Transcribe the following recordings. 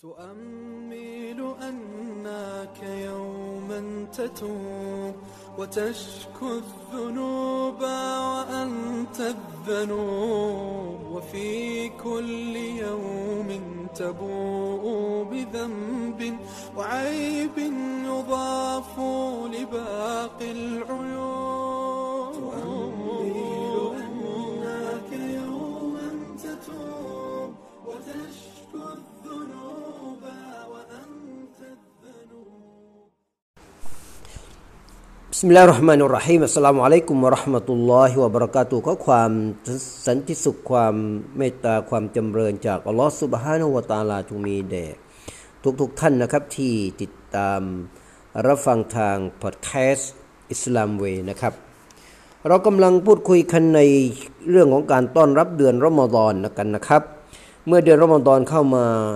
تؤمل أنك يوما تتوب وتشكو الذنوب وأنت الذنوب وفي كل يوم تبوء بذنب وعيب يضاف لباقي العيوب تؤمل أنك يوما تتوب وتشكو الذنوب وأنت الذنوب بسم الله الرحمن الرحيم السلام عليكم ورحمة الله وبركاته ขอความสันติสุขความเมตตาความจำเริญจากอัลเลาะห์ซุบฮานะฮูวะตะอาลาจงมีแด่ทุกท่านนะครับที่ติดตามรับฟังทางพอดแคสต์อิสลามเวย์นะครับเรากำลังพูดคุยกันในเรื่องของการต้อนรับเดือนรอมฎอนกันนะครับเมื่อเดือนรอมฎอนเข้า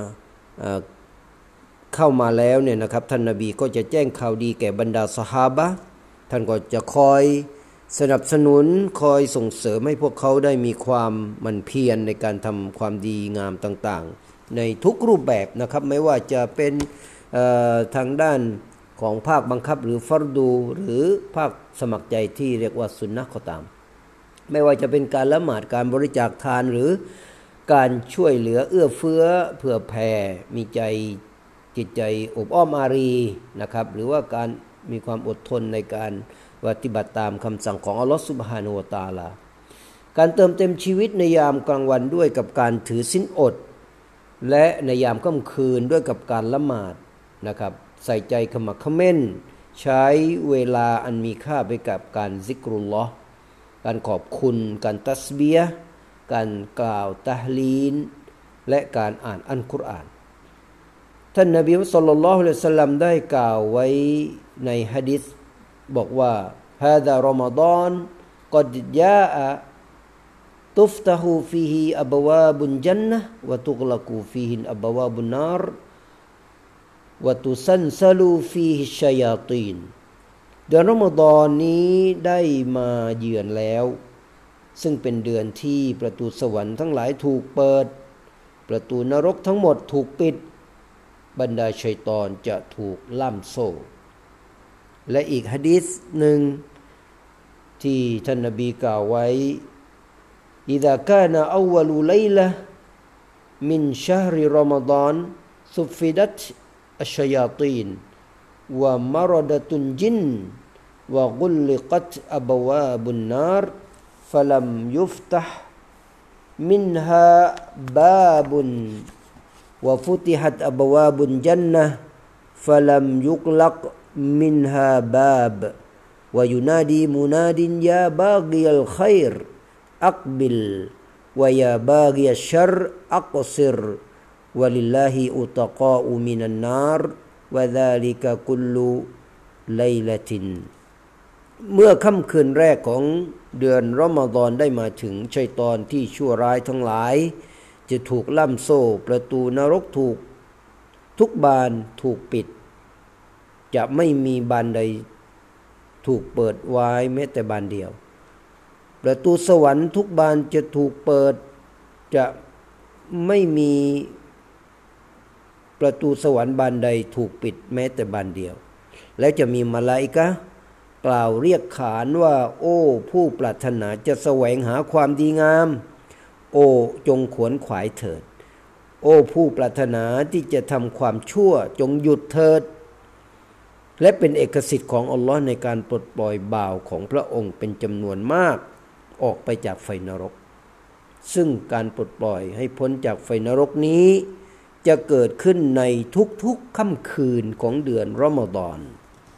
มาแล้วเนี่ยนะครับท่านนบีก็จะแจ้งข่าวดีแก่บรรดาซอฮาบะห์ท่านก็จะคอยสนับสนุนคอยส่งเสริมให้พวกเขาได้มีความหมั่นเพียรในการทำความดีงามต่างๆในทุกรูปแบบนะครับไม่ว่าจะเป็นทางด้านของภาคบังคับหรือฟัรดูหรือภาคสมัครใจที่เรียกว่าสุนนะห์ก็ตามไม่ว่าจะเป็นการละหมาดการบริจาคทานหรือการช่วยเหลือเอื้อเฟื้อเผื่อแผ่มีใจจิตใจอบอ้อมอารีนะครับหรือว่าการมีความอดทนในการปฏิบัติตามคำสั่งของอัลเลาะห์ซุบฮานะฮูวะตะอาลาการเติมเต็มชีวิตในยามกลางวันด้วยกับการถือศีลอดและในยามค่ำคืนด้วยกับการละหมาดนะครับใส่ใจขมักเขม้นใช้เวลาอันมีค่าไปกับการซิกรุลลอฮ์การขอบคุณการตัสบีฮ์การกล่าวตะฮลีลและการอ่านอัลกุรอานท่านนบีศ็อลลัลลอฮุอะลัยฮิวะซัลลัมได้กล่าวไว้ในหะดีษบอกว่าฮาซารอมฎอนกัดญาอะตุฟตะฮูฟีฮิอับวาบุนญันนะห์วะตุฆลักูฟีฮิอับวาบุนนารวะตุซันซะลูฟีฮิชัยาตีนเดือนรอมฎอนนี้ได้มาเยือนแล้วซึ่งเป็นเดือนที่ประตูสวรรค์ทั้งหลายถูกเปิดประตูนรกทั้งหมดถูกปิดบรรดาชัยฏอนจะถูกล่ามโซ่และอีกหะดีษหนึ่งที่ท่านนบีกล่าวไว้อิซากานะอัววัลุไลละมินชะฮริรอมฎอนซุฟิดัตอัชชัยาตีนวะมะรดะตุนจินวะกุลกัตอับวาบุนนารฟะลัมยุฟตะฮ์มินฮาบาบุนوفتحت أبواب الجنة فلم يغلق منها باب وينادي مناد يا باغي الخير أقبل ويا باغي الشر أقصر ولله أتقاء من النار وذلك كل ليلة เมื่อค่ำคืนแรกของเดือนรอมฎอนได้มาถึงชัยฏอนที่ชั่วร้ายทั้งหลายจะถูกล่ามโซ่ประตูนรกถูกทุกบานถูกปิดจะไม่มีบานใดถูกเปิดไว้แม้แต่บานเดียวประตูสวรรค์ทุกบานจะถูกเปิดจะไม่มีประตูสวรรค์บานใดถูกปิดแม้แต่บานเดียวและจะมีมลาอิกะฮ์กล่าวเรียกขานว่าโอ้ผู้ปรารถนาจะแสวงหาความดีงามโอ้จงขวนขวายเถิดโอ้ผู้ปรารถนาที่จะทำความชั่วจงหยุดเถิดและเป็นเอกสิทธิ์ของอัลลอฮ์ในการปลดปล่อยบ่าวของพระองค์เป็นจำนวนมากออกไปจากไฟนรกซึ่งการปลดปล่อยให้พ้นจากไฟนรกนี้จะเกิดขึ้นในทุกๆค่ำคืนของเดือนรอมฎอน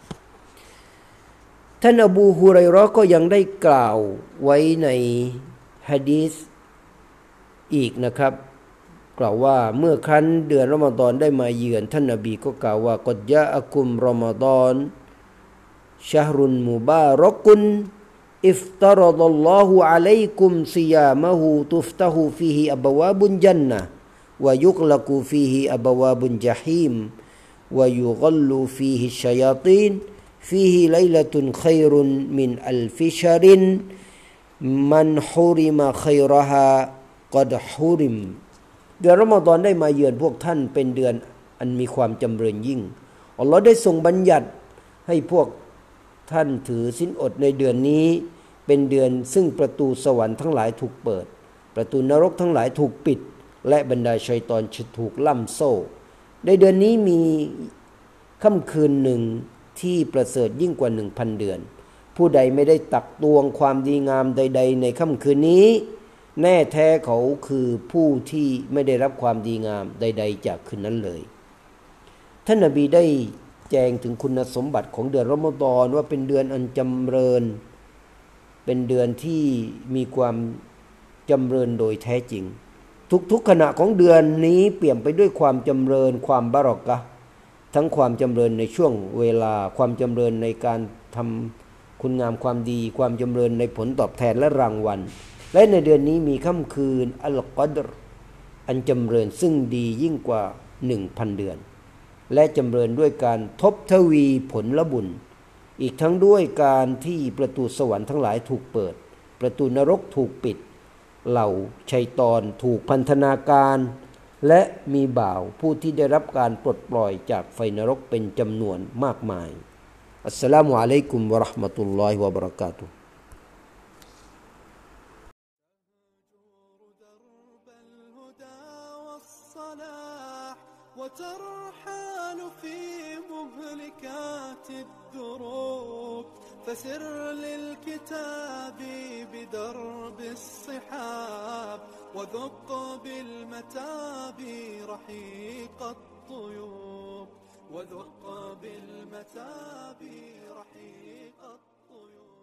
ท่านอบูฮุไรเราะห์ก็ยังได้กล่าวไว้ในหะดีษอีกนะครับกล่าวว่าเมื่อครั้นเดือนรอมฎอนได้มาเยือนท่านนบีก็กล่าวว่ากัดญาอะกุมรอมฎอนชะฮรุนมุบารักุนอิฟตะรดัลลอฮุอะลัยกุมซิยามะฮูตุฟตะฮูฟีฮิอับวาบุนญันนะห์วะยุฆลักุฟีฮิอับวาบุนญะฮีมวะยุฆลลูฟีฮิชัยาตีนฟีฮิไลละตุนคัยรุนมินอัลฟิชะรินมันฮุริมะคัยรฮากัดฮุริมเดือนรอมฎอนได้มาเยือนพวกท่านเป็นเดือนอันมีความจำเริญยิ่งอัลลอฮ์ได้ทรงบัญญัติให้พวกท่านถือศีลอดในเดือนนี้เป็นเดือนซึ่งประตูสวรรค์ทั้งหลายถูกเปิดประตูนรกทั้งหลายถูกปิดและบรรดาชัยฏอนจะถูกล่ำโซ่ในเดือนนี้มีค่ำคืนหนึ่งที่ประเสริฐยิ่งกว่า 1,000 เดือนผู้ใดไม่ได้ตักตวงความดีงามใดๆในค่ำคืนนี้แน่แท้เขาคือผู้ที่ไม่ได้รับความดีงามใดๆจากคืนนั้นเลยท่านนบีได้แจงถึงคุณสมบัติของเดือนรอมฎอนว่าเป็นเดือนอันจำเริญเป็นเดือนที่มีความจำเริญโดยแท้จริงทุกๆขณะของเดือนนี้เปี่ยมไปด้วยความจำเริญความบารอกะห์ทั้งความจำเริญในช่วงเวลาความจำเริญในการทำคุณงามความดีความจำเริญในผลตอบแทนและรางวัลและในเดือนนี้มีค่ำคืนอัลกอดรอันจำเริญซึ่งดียิ่งกว่า 1,000 เดือนและจำเริญด้วยการทบทวีผลละบุญอีกทั้งด้วยการที่ประตูสวรรค์ทั้งหลายถูกเปิดประตูนรกถูกปิดเหล่าชัยฏอนถูกพันธนาการและมีบ่าวผู้ที่ได้รับการปลดปล่อยจากไฟนรกเป็นจำนวนมากมายอัสสลามุอะลัยกุมวะเราะห์มะตุลลอฮิวะบะเราะกาตุฮ์ وترحال في مهلكات الدروب فسر للكتاب بدرب الصحاب وذق بالمتاب رحيق الطيوب وذق بالمتاب رحيق الطيوب